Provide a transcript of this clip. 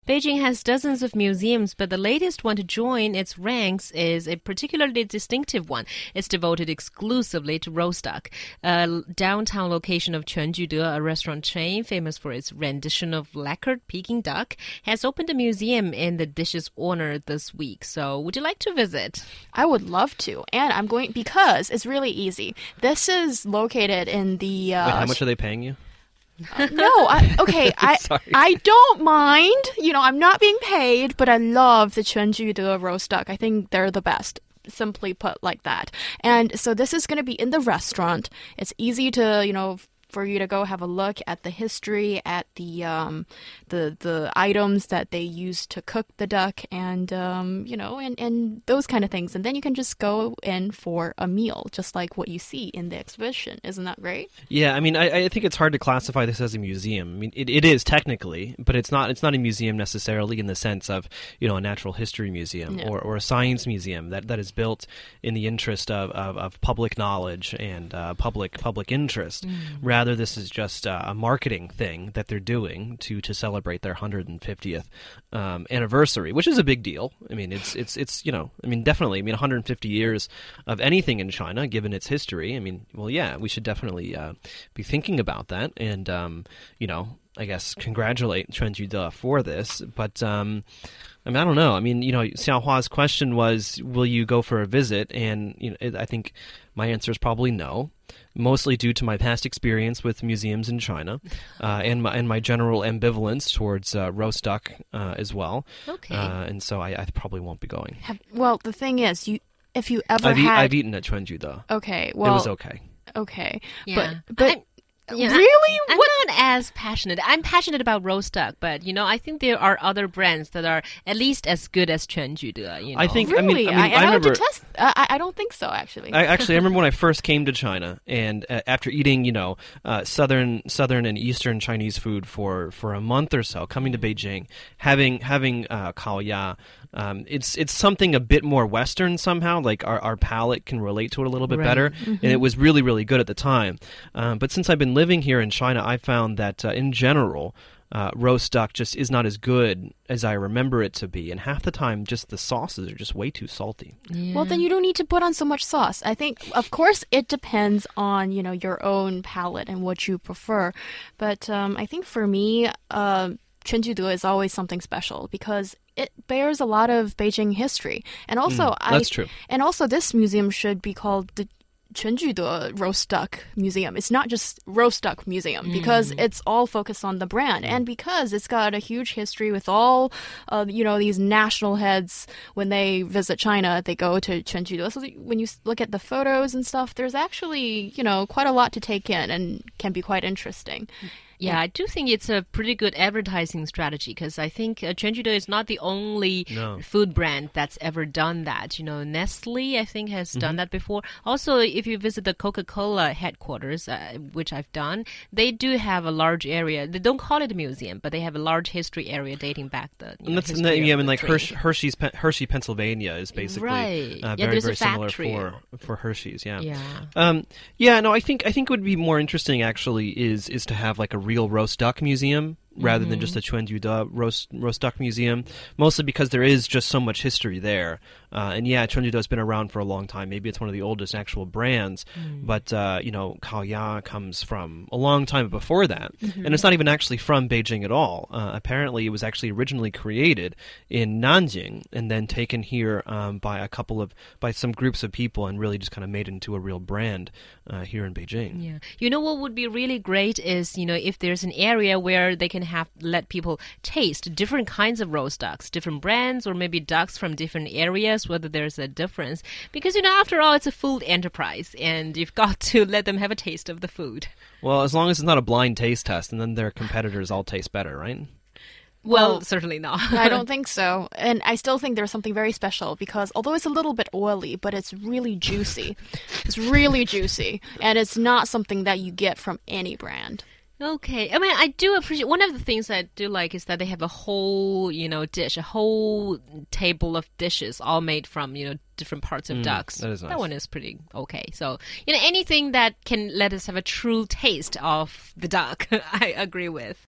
Beijing has dozens of museums, but the latest one to join its ranks is a particularly distinctive one. It's devoted exclusively to roast duck. A downtown location of Quanjude, a restaurant chain famous for its rendition of lacquered Peking duck, has opened a museum in the dish's honor this week. So would you like to visit? I would love to. And I'm going because it's really easy. This is located in the... Wait, how much are they paying you? I don't mind. You know, I'm not being paid, but I love the Quanjude roast duck. I think they're the best. Simply put like that. And so this is going to be in the restaurant. It's easy to, for you to go have a look at the history, at the items that they use to cook the duck, and and those kind of things. And then you can just go in for a meal, just like what you see in the exhibition. Isn't that great? Yeah, I mean, I think it's hard to classify this as a museum. I mean, it is technically, but it's not a museum necessarily in the sense of, a natural history museum or a science museum that is built in the interest of public knowledge and public interest. Rather, this is just a marketing thing that they're doing to celebrate their 150th anniversary, which is a big deal. I mean, it's definitely. I mean, 150 years of anything in China, given its history. I mean, well, yeah, we should definitely be thinking about that, and I guess congratulate Quanjude for this, but. I mean, I don't know. I mean, Xiaohua's question was, will you go for a visit? And I think my answer is probably no, mostly due to my past experience with museums in China and my general ambivalence towards roast duck as well. Okay. And so I probably won't be going. Well, the thing is, if you ever I've eaten at Quanjude. Okay, well... It was okay. Okay. Yeah. But really? I'm not as passionate. I'm passionate about roast duck, but I think there are other brands that are at least as good as Quanjude. I think. Really? I remember. I don't think so. Actually. I remember when I first came to China, and after eating, southern and eastern Chinese food for a month or so, coming to Beijing, having kao ya. It's something a bit more Western somehow. Like our palate can relate to it a little bit better, and it was really, really good at the time. But since I've been living here in China, I found that in general, roast duck just is not as good as I remember it to be, and half the time, just the sauces are just way too salty. Yeah. Well, then you don't need to put on so much sauce. I think, of course, it depends on your own palate and what you prefer. But I think for me, Quanjude is always something special because it bears a lot of Beijing history. And also, that's true. And also, this museum should be called the Quanjude Roast Duck Museum. It's not just Roast Duck Museum because it's all focused on the brand and because it's got a huge history with all, these national heads. When they visit China, they go to Quanjude. So when you look at the photos and stuff, there's actually, quite a lot to take in and can be quite interesting. Yeah, I do think it's a pretty good advertising strategy because I think Quanjude is not the only food brand that's ever done that. Nestle, I think, has done that before. Also, if you visit the Coca-Cola headquarters, which I've done, they do have a large area. They don't call it a museum, but they have a large history area dating back the Hershey, Pennsylvania is basically very, very similar for Hershey's. Yeah. I think it would be more interesting actually is to have like a real roast duck museum rather than just a Quanjude roast duck museum, mostly because there is just so much history there. And Quanjude has been around for a long time. Maybe it's one of the oldest actual brands, but kao ya comes from a long time before that, and it's not even actually from Beijing at all. Apparently, it was actually originally created in Nanjing and then taken here by some groups of people and really just kind of made into a real brand here in Beijing. Yeah, what would be really great is if there's an area where they can let people taste different kinds of roast ducks, different brands, or maybe ducks from different areas, whether there's a difference. Because, after all, it's a food enterprise, and you've got to let them have a taste of the food. Well, as long as it's not a blind taste test, and then their competitors all taste better, right? Well, certainly not. I don't think so. And I still think there's something very special because although it's a little bit oily, but it's really juicy. It's really juicy. And it's not something that you get from any brand. Okay. I mean, I do appreciate... One of the things I do like is that they have a whole, dish, a whole table of dishes all made from, different parts of ducks. That is nice. That one is pretty okay. So, anything that can let us have a true taste of the duck, I agree with.